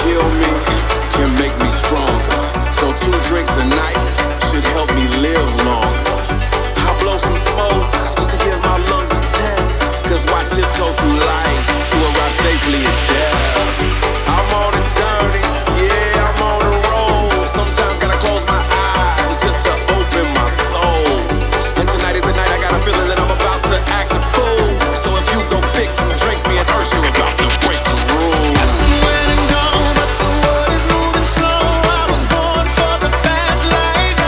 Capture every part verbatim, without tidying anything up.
kill me can make me stronger. So two drinks a night should help me live longer. I'll blow some smoke just to give my lungs a test. Cause why tiptoe through life to arrive safely at death? I'm on a journey, yeah, I'm on a roll. Sometimes gotta close my eyes just to open my soul. And tonight is the night I got a feeling that I'm about to act a fool. So if you go pick some drinks, me and Ursula about to break some rules. Got somewhere to go, but the world is moving slow. I was born for the fast life.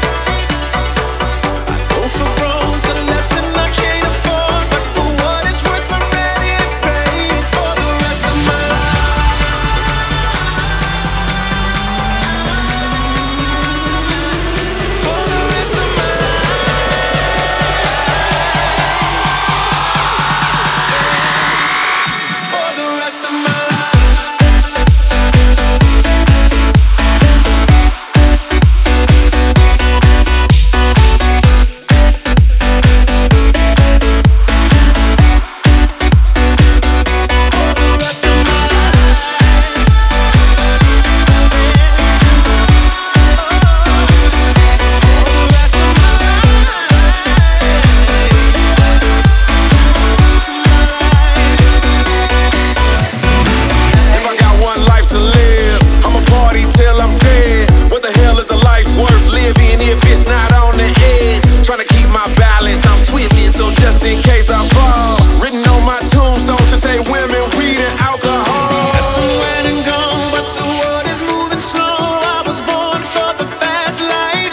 I go for broke, the lesson I can't afford. But for what it's worth, I'm ready to pay for the rest of my life. For the rest of my life. For the rest of my life. If I got one life to live, I'ma party till I'm dead. What the hell is a life worth living if it's not on the edge? Trying to keep my balance, I'm twisted, so just in case I fall. Written on my tombstone should say women, weed, and alcohol. Got somewhere to go, but the world is moving slow. I was born for the fast life.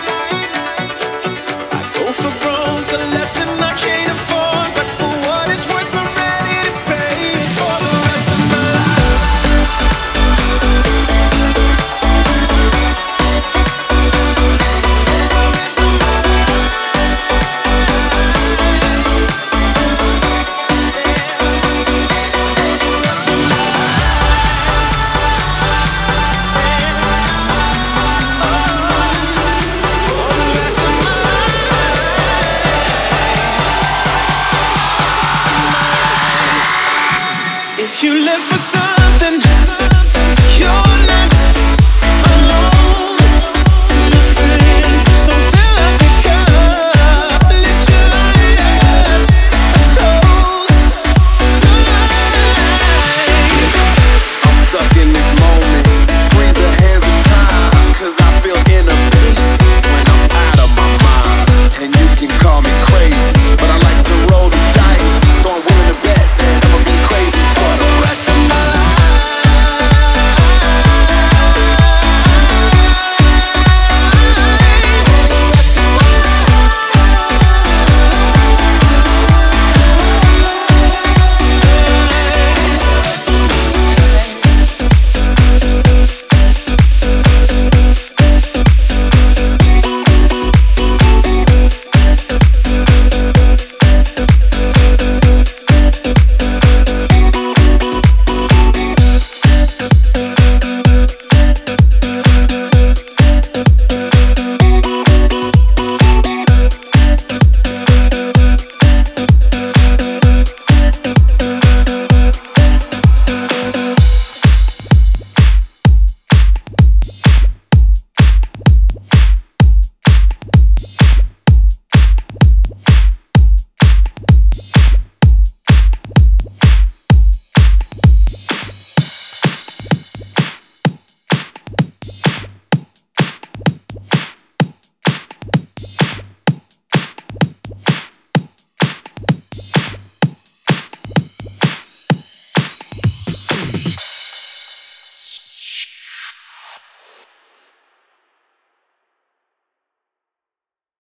I go for broke, the lesson I can't afford. But for what it's worth, I'm ready to pay for the rest of my life. For the rest of my life. If you live for something,